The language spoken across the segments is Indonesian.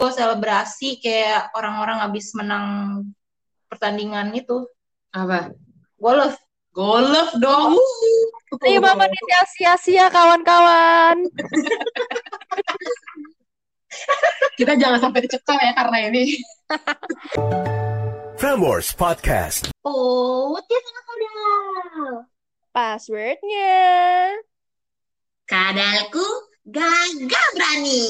selebrasi kayak orang-orang habis menang pertandingan itu. Apa? Golf. Golf dong. Ayo Mama sia-sia kawan-kawan. Kita jangan sampai dicekal ya karena ini. Prambors Podcast. Oh, dia sangat kadal. Passwordnya. Kadalku gagah berani.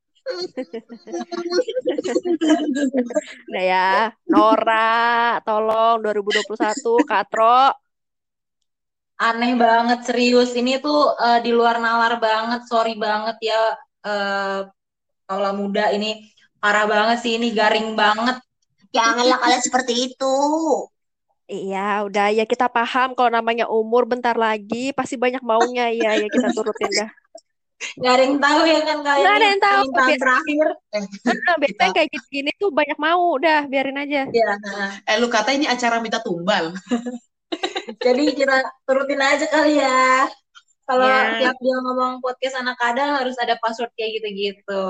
Udah ya, Nora, tolong 2021 Katro. Aneh banget, serius. Ini tuh di luar nalar banget. Sorry banget ya, Paula muda ini parah banget sih. Ini garing banget. Janganlah kalian seperti itu. Iya, udah ya kita paham kalau namanya umur bentar lagi pasti banyak maunya ya kita turutin dah. Gak ada yang tahu ya kan kalian. Nggak ada yang tahu. Permintaan terakhir. Biasanya kayak gini tuh banyak mau, udah biarin aja. Ya. Lu kata ini acara minta tumbal. Jadi kita turutin aja kali ya. Kalau Ya. tiap dia ngomong podcast anak kadal harus ada password kayak gitu-gitu.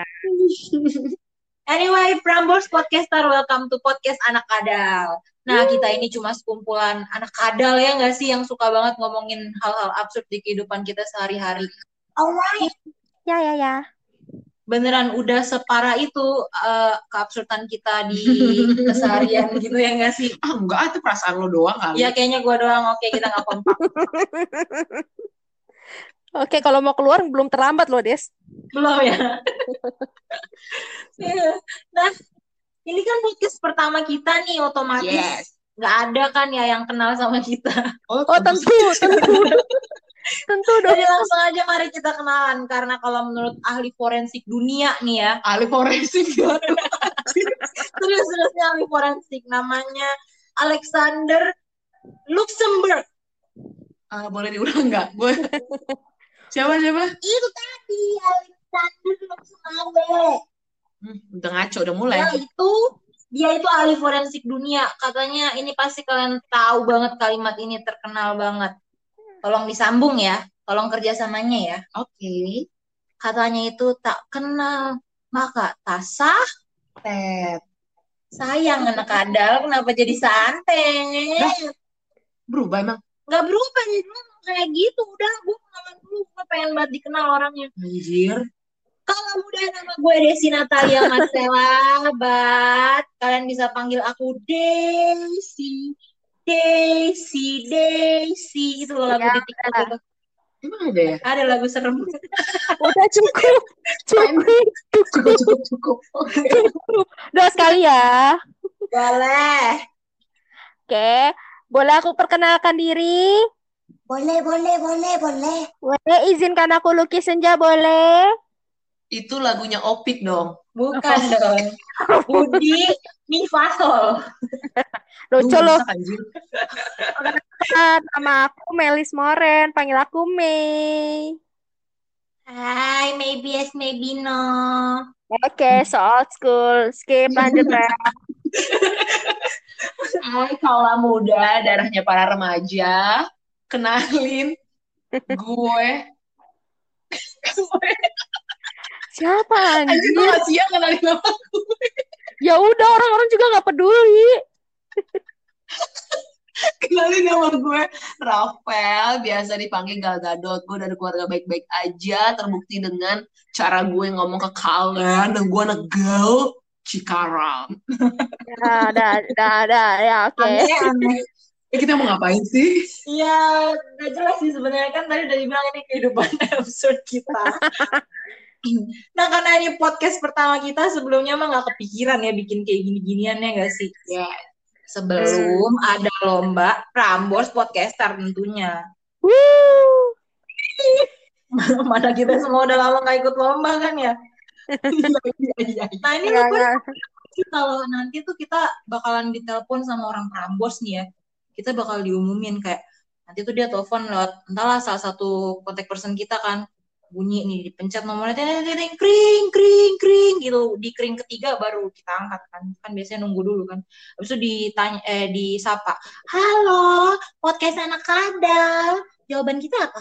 Anyway, Prambors Podcaster, welcome to podcast anak kadal. Nah, kita ini cuma sekumpulan anak kadal ya nggak sih yang suka banget ngomongin hal-hal absurd di kehidupan kita sehari-hari. Alright. Ya. Beneran udah separah itu keabsurdan kita di keseharian gitu ya nggak sih? Enggak, itu perasaan lo doang kali. Iya, kayaknya gue doang. Oke, kita nggak kompak. Oke, kalau mau keluar belum terlambat loh, Des. Belum ya? Nah, ini kan podcast pertama kita nih, otomatis Yes. nggak ada kan ya yang kenal sama kita. Oh, tentu. Tentu dong. Jadi langsung aja mari kita kenalan, karena kalau menurut ahli forensik dunia nih ya, Ahli forensik. serius-seriusnya ahli forensik, namanya Alexander Luxembourg. Boleh diulang nggak? Siapa? Itu tadi Alexander Luxembourg. Udah ngaco, udah mulai. Dia itu ahli forensik dunia. Katanya ini pasti kalian tahu banget kalimat ini, terkenal banget. Tolong disambung ya, tolong kerjasamanya ya. Oke. Katanya itu tak kenal maka tak santet. Sayang anak kadal, kenapa jadi santet? Berubah emang. Nggak berubah, jadi dulu kayak gitu. Udah, gue kenalan dulu, gue pengen banget dikenal orangnya. Anjir. Kalau udah, nama gue Desi Natalia Marcella Bat. Kalian bisa panggil aku Desi. Itu loh lagu di TikTok itu. Emang ada ya? Ada lagu serem. Udah cukup. Cukup. Udah sekali ya. Boleh. Oke, boleh aku perkenalkan diri? Boleh. Boleh izinkan aku lukis senja, boleh? Itu lagunya Opik dong. Bukan dong. Budi Mifasol. Lucu loh. Rusak, anjir. Nama aku Melis Moren, panggil aku Mei. Hai, maybe yes, maybe no. Oke, so old school. Skip, lanjut ya. Hai kaula muda, darahnya para remaja. Kenalin gue. Siapa Anjir, gue anjir? masih ya kenalin nama gue. Ya udah, orang-orang juga nggak peduli. Kenalin nama gue Rafael, biasa dipanggil Gal Gadot. Gue dari keluarga baik-baik aja, terbukti dengan cara gue ngomong ke kalian dan gue negal Cikarang. Dah, ya oke. Aneh. Kita mau ngapain sih? Ya, gak jelas sih sebenarnya, kan tadi udah dibilang ini kehidupan absurd kita. Nah, karena ini podcast pertama kita, sebelumnya mah gak kepikiran ya bikin kayak gini-ginian ya gak sih? Ya, Sebelum ada lomba Prambors Podcaster tentunya. Wuh. Mana kita semua udah lama gak ikut lomba kan ya? iya. Nah, ini kalau nanti tuh kita bakalan ditelepon sama orang Prambors nih ya. Kita bakal diumumin kayak nanti tuh dia telepon lewat entahlah salah satu kontak person kita kan, bunyi nih, dipencet nomornya kring gitu, di kring ketiga baru kita angkat kan biasanya nunggu dulu kan, habis itu ditanya disapa, halo podcast anak kadal, jawaban kita apa?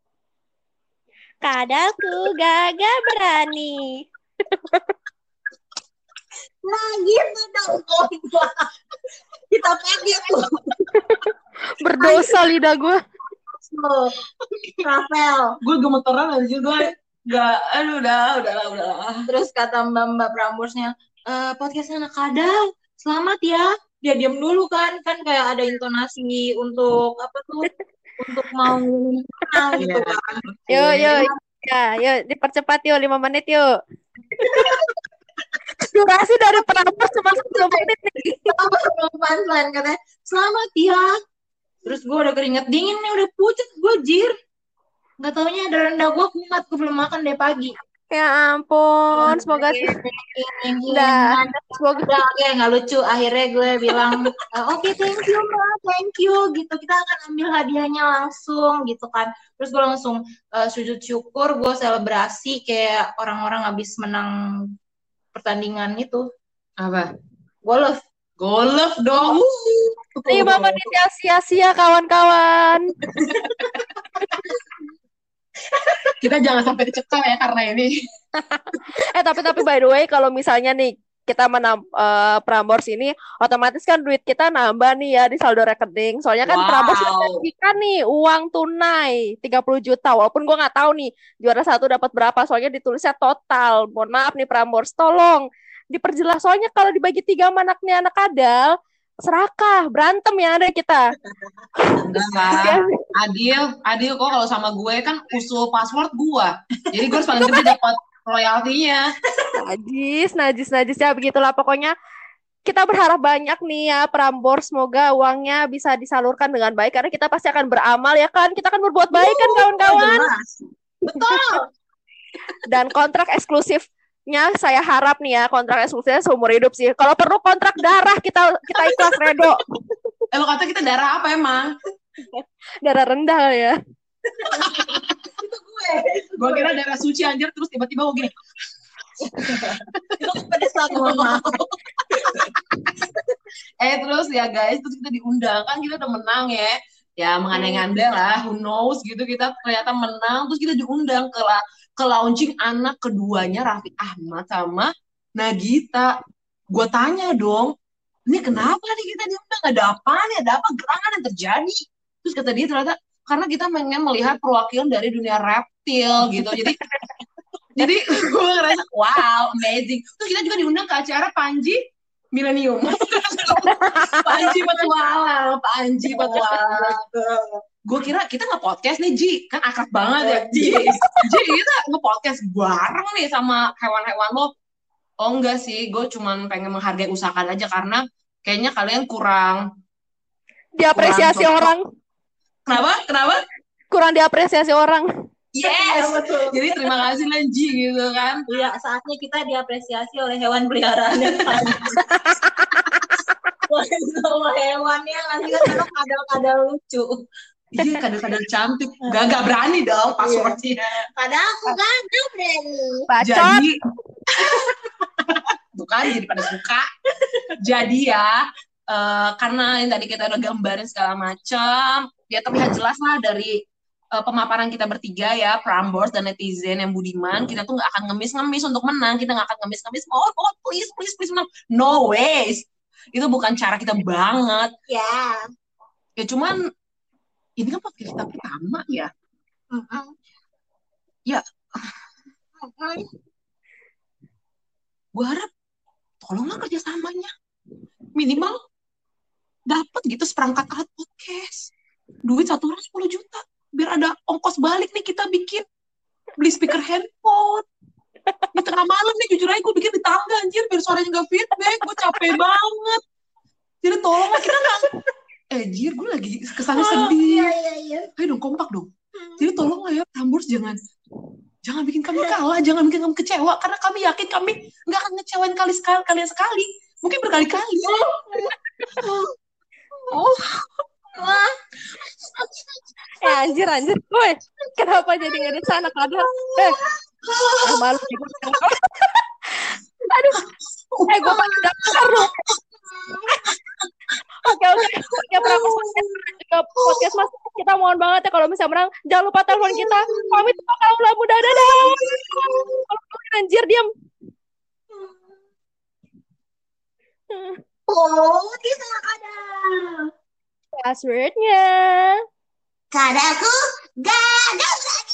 Kadalku gagah berani. Nah gitu dong kompak. Kita pakai tuh. Berdosa lidah gue. Tuh, Rafael. Gue gemeteran aja gue. Gak, aduh udahlah. Terus kata mbak Prambosnya, podcast anak kadal, selamat ya. Dia diam dulu kan kayak ada intonasi untuk apa tuh, untuk mau menang gitu Iya. kan. Yuk. Ya, yuk dipercepat yuk 5 menit yuk. Durasi dari Prambors cuma 10 menit nih. Punchline katanya, selamat ya. Terus gue udah keringet dingin nih, udah pucat gue jir. Gak taunya ada rendah gue kumat, gue belum makan dari pagi. Ya ampun, semoga Udah, semoga oke, nggak lucu. Akhirnya gue bilang, oke, thank you mbak, thank you gitu. Kita akan ambil hadiahnya langsung gitu kan. Terus gue langsung sujud syukur, gue selebrasi kayak orang-orang habis menang pertandingan itu. Apa? Golf. Golf dong. 5 menit yang sia-sia kawan-kawan. Kita jangan sampai dicekal ya karena ini. Tapi by the way kalau misalnya nih kita menang Prambors ini otomatis kan duit kita nambah nih ya di saldo rekening. Soalnya kan Prambors kan nih uang tunai 30 juta. Walaupun gue nggak tahu nih juara 1 dapat berapa. Soalnya ditulisnya total. Mohon maaf nih Prambors, tolong diperjelas. Soalnya kalau dibagi 3 sama anaknya anak kadal, serakah, berantem yang ada kita. Enggak lah. Adil kok kalau sama gue kan usul password gue. Jadi gue harus paling gede dapat royaltinya. Najis ya begitulah pokoknya. Kita berharap banyak nih ya Prambors, semoga uangnya bisa disalurkan dengan baik karena kita pasti akan beramal ya kan. Kita akan berbuat baik kan kawan-kawan. Betul. Dan kontrak eksklusifnya saya harap nih ya, kontrak eksklusifnya seumur hidup sih. Kalau perlu kontrak darah kita ikhlas redo. Lo kata kita darah apa emang? Darah rendah ya. Gue kira darah suci anjir, terus tiba-tiba gue gini. Itu pada saat ngomong. Terus ya guys, terus kita diundang kan, kita udah menang ya. Ya mengandai-andai lah, who knows gitu, kita ternyata menang. Terus kita diundang ke launching anak keduanya Raffi Ahmad sama Nagita. Gue tanya dong, ini kenapa nih kita diundang? Ada apa nih? Ada apa gerangan yang terjadi? Terus kata dia ternyata karena kita pengen melihat perwakilan dari dunia reptil gitu. Jadi gue ngerasa wow, amazing. Terus kita juga diundang ke acara Panji Millennium. Panji Petualang. Gue kira kita nge-podcast nih, Ji. Kan akrab banget ya, Ji. Kita nge-podcast bareng nih sama hewan-hewan lo. Oh enggak sih, gue cuman pengen menghargai usaha kalian aja karena kayaknya kalian kurang diapresiasi orang. Kenapa? Kurang diapresiasi orang. Yes. Jadi terima kasih lah Ji gitu kan. Iya, saatnya kita diapresiasi oleh hewan peliharaan yang semua hewannya ngasih kan kadal-kadal lucu. Iya, kadal-kadal cantik. Gak berani dong passwordnya. Padahal aku gak berani. Jadi bukan jadi pada suka. Jadi ya karena yang tadi kita udah gambarin segala macam, ya terlihat jelas lah dari pemaparan kita bertiga ya, Prambors dan netizen yang budiman, kita tuh nggak akan ngemis-ngemis untuk menang, kita nggak akan ngemis-ngemis, oh please menang, no ways, itu bukan cara kita banget. Ya cuman ini kan podcast kita pertama ya. Ya, gue harap tolonglah kerjasamanya minimal dapat gitu seperangkat alat podcast, duit 1 orang 10 juta biar ada ongkos balik nih kita bikin beli speaker handphone di tengah malam nih. Jujur aja gue bikin di tangga anjir biar suaranya gak feedback, gue capek banget. Jadi tolonglah kita nggak jir gue lagi kesannya sedih. Ayo dong kompak dong. Jadi tolonglah ya Prambors, jangan bikin kami kalah, jangan bikin kami kecewa, karena kami yakin kami nggak akan ngecewain kalian sekali, mungkin berkali-kali. Anjir, woi, kenapa jadi nggak di sana kadang? Malu juga. Aduh, gue pakai daftar lu. Oke, podcast mas, kita mohon banget ya kalau misalnya menang, jangan lupa telepon kita. Pamit kalau ulah muda, dadah. Anjir, diam. Oh, kisah ada. Passwordnya. Kadaku gagal.